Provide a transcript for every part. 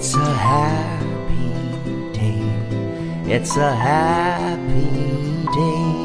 It's a happy day. It's a happy day.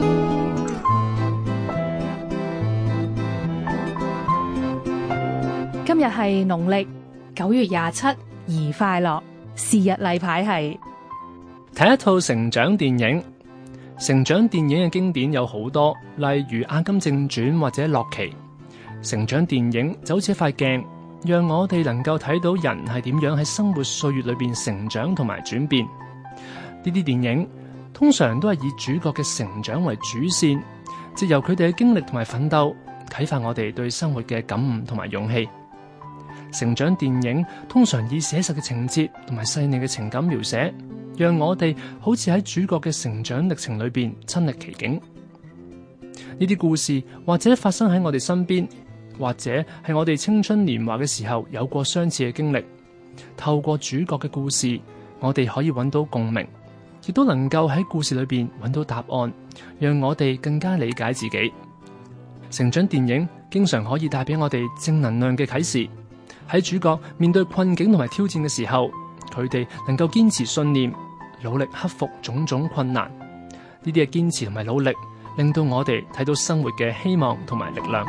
今日係農曆9月27，宜快樂。是日例牌係睇一套成長電影。成長電影嘅經典有好多，例如《阿甘正傳》或者《洛奇》。成長電影就好似一塊鏡，讓我哋能夠睇到人係點樣喺生活歲月裏邊成長同埋轉變。呢啲電影通常都係以主角嘅成長為主線，藉由佢哋嘅經歷同埋奮鬥，啟發我哋對生活嘅感悟同埋勇氣。成長電影通常以寫實嘅情節同埋細膩嘅情感描寫，讓我哋好似喺主角嘅成長歷程裏邊親歷其境。呢啲故事或者發生喺我哋身邊，或者係我哋青春年華嘅時候有過相似嘅經歷。透過主角嘅故事，我哋可以揾到共鳴，亦都能夠喺故事裏邊揾到答案，讓我哋更加理解自己。成長電影經常可以帶俾我哋正能量嘅啟示。喺主角面對困境同埋挑戰嘅時候，佢哋能夠堅持信念，努力克服種種困難。呢啲嘅堅持同埋努力，令到我哋睇到生活嘅希望同埋力量。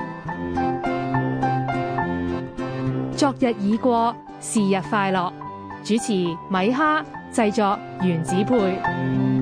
昨日已過，是日快樂。主持米哈，製作原子配。